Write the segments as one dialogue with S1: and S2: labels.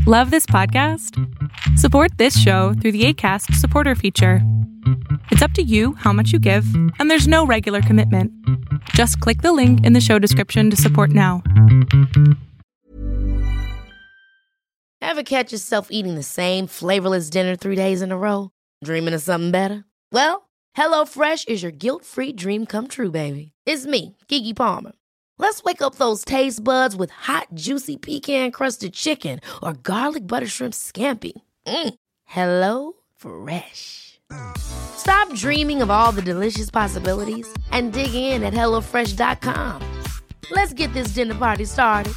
S1: Love this podcast? Support this show through the Acast supporter feature. It's up to you how much you give, and there's no regular commitment. Just click the link in the show description to support now.
S2: Ever catch yourself eating the same flavorless dinner 3 days in a row? Dreaming of something better? Well, HelloFresh is your guilt-free dream come true, baby. It's me, Keke Palmer. Let's wake up those taste buds with hot, juicy pecan-crusted chicken or garlic butter shrimp scampi. Hello Fresh. Stop dreaming of all the delicious possibilities and dig in at HelloFresh.com. Let's get this dinner party started.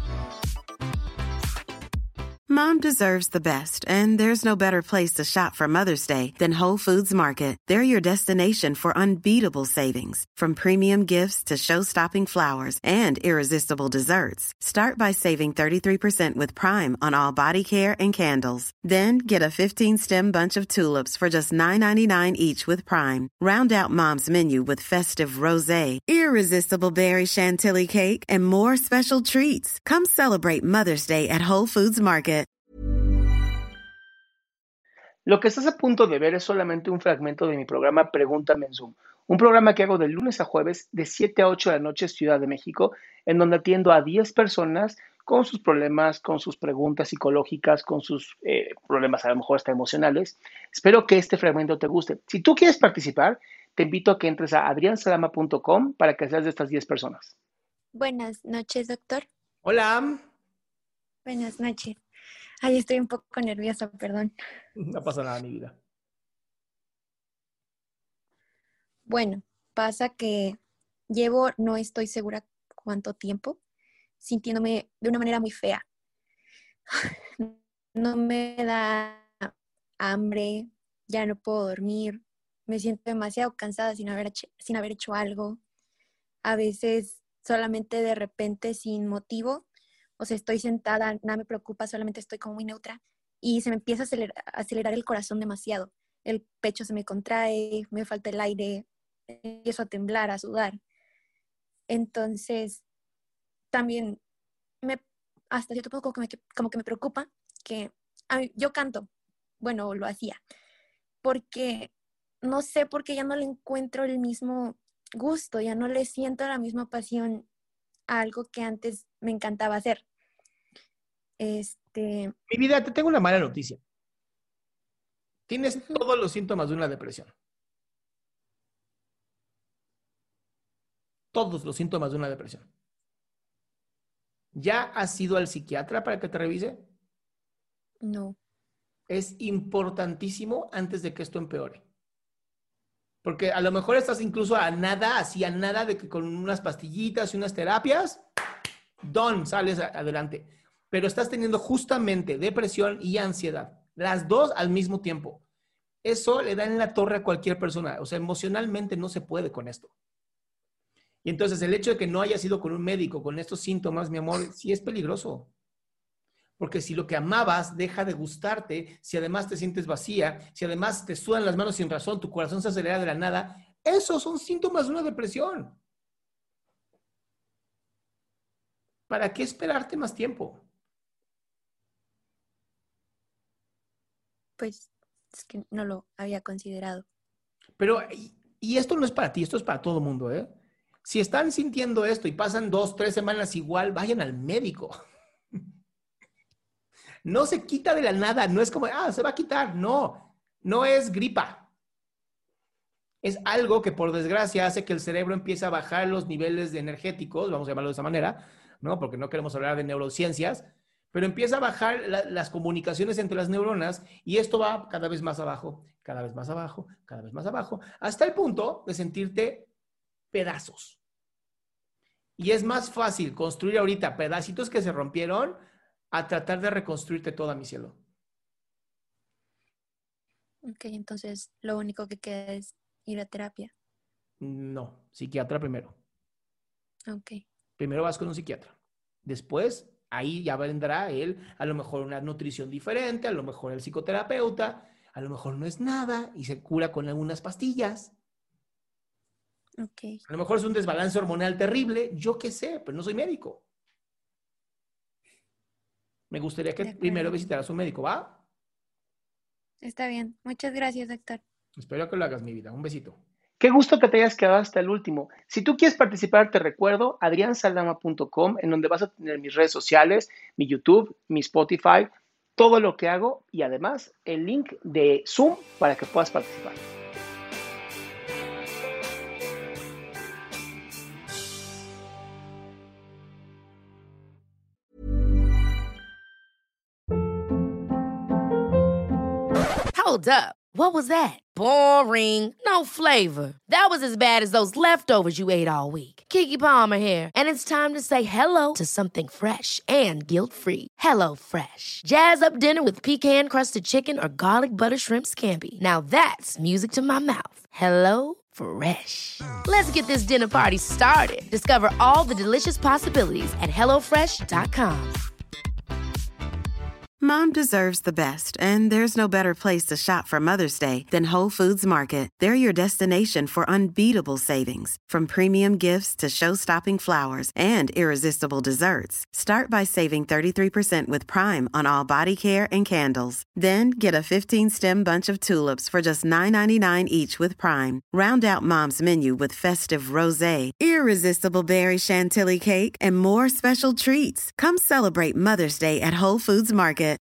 S3: Mom deserves the best, and there's no better place to shop for Mother's Day than Whole Foods Market. They're your destination for unbeatable savings, from premium gifts to show-stopping flowers and irresistible desserts. Start by saving 33% with Prime on all body care and candles. Then get a 15-stem bunch of tulips for just $9.99 each with Prime. Round out Mom's menu with festive rosé, irresistible berry chantilly cake, and more special treats. Come celebrate Mother's Day at Whole Foods Market.
S4: Lo que estás a punto de ver es solamente un fragmento de mi programa Pregúntame en Zoom, un programa que hago de lunes a jueves de 7 a 8 de la noche Ciudad de México, en donde atiendo a 10 personas con sus problemas, con sus preguntas psicológicas, con sus problemas a lo mejor hasta emocionales. Espero que este fragmento te guste. Si tú quieres participar, te invito a que entres a adriansalama.com para que seas de estas 10 personas.
S5: Buenas noches, doctor.
S4: Hola.
S5: Buenas noches. Ay, estoy un poco nerviosa, perdón.
S4: No pasa nada, mi vida.
S5: Bueno, pasa que no estoy segura cuánto tiempo, sintiéndome de una manera muy fea. No me da hambre, ya no puedo dormir, me siento demasiado cansada sin haber hecho algo. A veces solamente de repente sin motivo. O sea, estoy sentada, nada me preocupa, solamente estoy como muy neutra y se me empieza a acelerar el corazón demasiado. El pecho se me contrae, me falta el aire, empiezo a temblar, a sudar. Entonces, también hasta cierto punto como que me preocupa que yo canto, bueno, lo hacía, porque no sé por qué ya no le encuentro el mismo gusto, ya no le siento la misma pasión a algo que antes me encantaba hacer.
S4: Mi vida, te tengo una mala noticia. Tienes todos los síntomas de una depresión. Todos los síntomas de una depresión. ¿Ya has ido al psiquiatra para que te revise?
S5: No.
S4: Es importantísimo antes de que esto empeore. Porque a lo mejor estás incluso a nada de que con unas pastillitas y unas terapias, sales adelante. Pero estás teniendo justamente depresión y ansiedad, las dos al mismo tiempo. Eso le da en la torre a cualquier persona. O sea, emocionalmente no se puede con esto. Y entonces el hecho de que no hayas ido con un médico con estos síntomas, mi amor, sí es peligroso. Porque si lo que amabas deja de gustarte, si además te sientes vacía, si además te sudan las manos sin razón, tu corazón se acelera de la nada, esos son síntomas de una depresión. ¿Para qué esperarte más tiempo?
S5: Pues es que no lo había considerado.
S4: Pero, y esto no es para ti, esto es para todo el mundo, ¿eh? Si están sintiendo esto y pasan 2, 3 semanas igual, vayan al médico. No se quita de la nada, no es como, se va a quitar. No, no es gripa. Es algo que por desgracia hace que el cerebro empiece a bajar los niveles de energéticos, vamos a llamarlo de esa manera, ¿no? Porque no queremos hablar de neurociencias, pero empieza a bajar las comunicaciones entre las neuronas y esto va cada vez más abajo, cada vez más abajo, cada vez más abajo, hasta el punto de sentirte pedazos. Y es más fácil construir ahorita pedacitos que se rompieron a tratar de reconstruirte toda, mi cielo.
S5: Ok, entonces lo único que queda es ir a terapia.
S4: No, psiquiatra primero.
S5: Ok.
S4: Primero vas con un psiquiatra. Después, ahí ya vendrá él, a lo mejor una nutrición diferente, a lo mejor el psicoterapeuta, a lo mejor no es nada y se cura con algunas pastillas.
S5: Ok.
S4: A lo mejor es un desbalance hormonal terrible, yo qué sé, pero no soy médico. me gustaría que
S5: De acuerdo.
S4: primero visitaras a un médico, ¿va?
S5: Está bien. Muchas gracias, doctor.
S4: Espero que lo hagas, mi vida. Un besito.
S6: Qué gusto que te hayas quedado hasta el último. Si tú quieres participar, te recuerdo adriansaldama.com, en donde vas a tener mis redes sociales, mi YouTube, mi Spotify, todo lo que hago y además el link de Zoom para que puedas participar.
S2: Hold up. What was that? Boring. No flavor. That was as bad as those leftovers you ate all week. Keke Palmer here, and it's time to say hello to something fresh and guilt-free. Hello Fresh. Jazz up dinner with pecan-crusted chicken or garlic butter shrimp scampi. Now that's music to my mouth. Hello Fresh. Let's get this dinner party started. Discover all the delicious possibilities at hellofresh.com.
S3: Mom deserves the best, and there's no better place to shop for Mother's Day than Whole Foods Market. They're your destination for unbeatable savings, from premium gifts to show-stopping flowers and irresistible desserts. Start by saving 33% with Prime on all body care and candles. Then get a 15-stem bunch of tulips for just $9.99 each with Prime. Round out Mom's menu with festive rosé, irresistible berry chantilly cake, and more special treats. Come celebrate Mother's Day at Whole Foods Market.